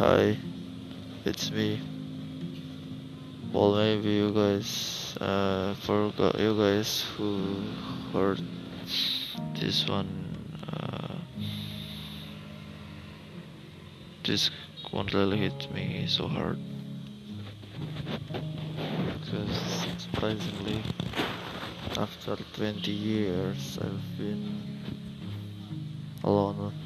Hi, it's me. Well, maybe you guys forgot you guys who heard this one. Uh, this one really hit me so hard because surprisingly, after 20 years, I've been alone,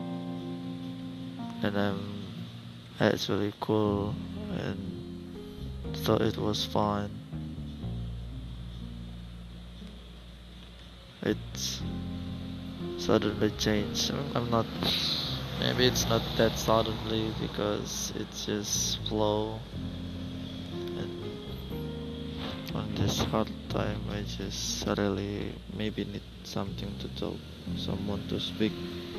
and I'm actually cool and thought it was fine. It's suddenly changed. I'm not. Maybe it's not that suddenly because it's just flow. And on this hard time, I just really maybe need something to talk, someone to speak.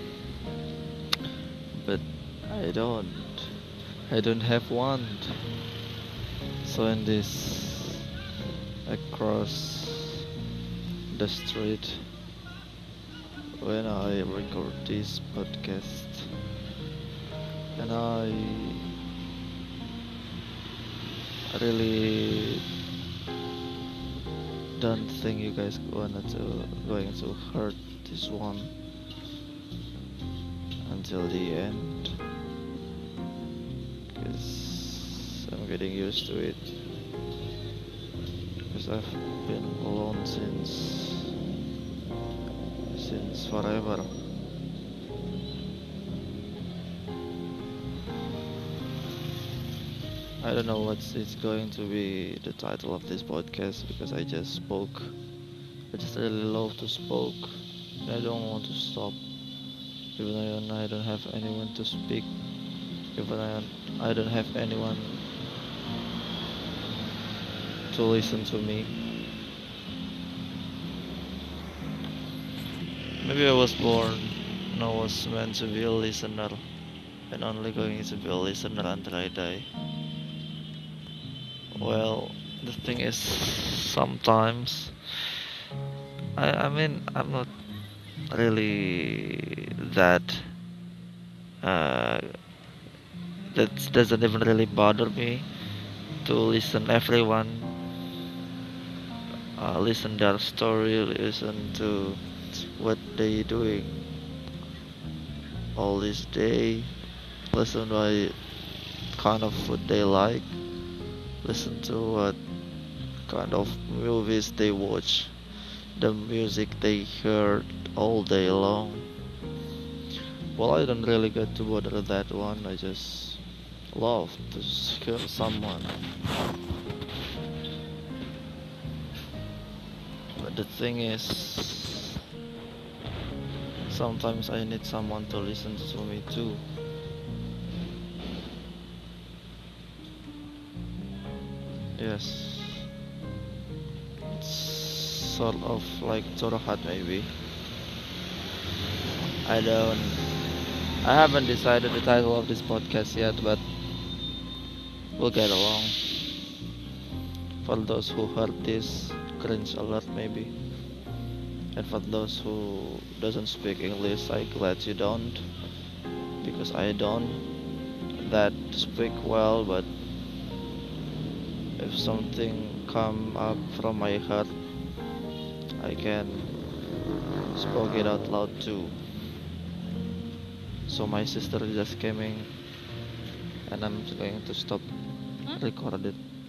But I don't. I don't have one. So in this, across the street, when I record this podcast, and I really don't think you guys going to hurt this one until the end, because I'm getting used to it, because I've been alone since forever. I don't know what's it's going to be the title of this podcast because I just spoke. I just really love to spoke. And I don't want to stop. Even though I don't have anyone to speak. Even I don't have anyone to listen to me. Maybe I was born and I was meant to be a listener and only going to be a listener until I die. Well, the thing is, sometimes I mean I'm not really that uh that doesn't even really bother me to listen everyone, listen their story, listen to what they doing all this day, listen what kind of food they like, listen to what kind of movies they watch, the music they heard all day long. Well, I don't really get to bother that one. I just love to hear someone. But the thing is, sometimes I need someone to listen to me too. Yes, it's sort of like curhat maybe. I don't. I haven't decided the title of this podcast yet, but we'll get along. For those who heard this, cringe alert maybe. And for those who doesn't speak English, I glad you don't, because I don't that speak well. But if something come up from my heart, I can speak it out loud too. So my sister just came in, and I'm going to stop record it.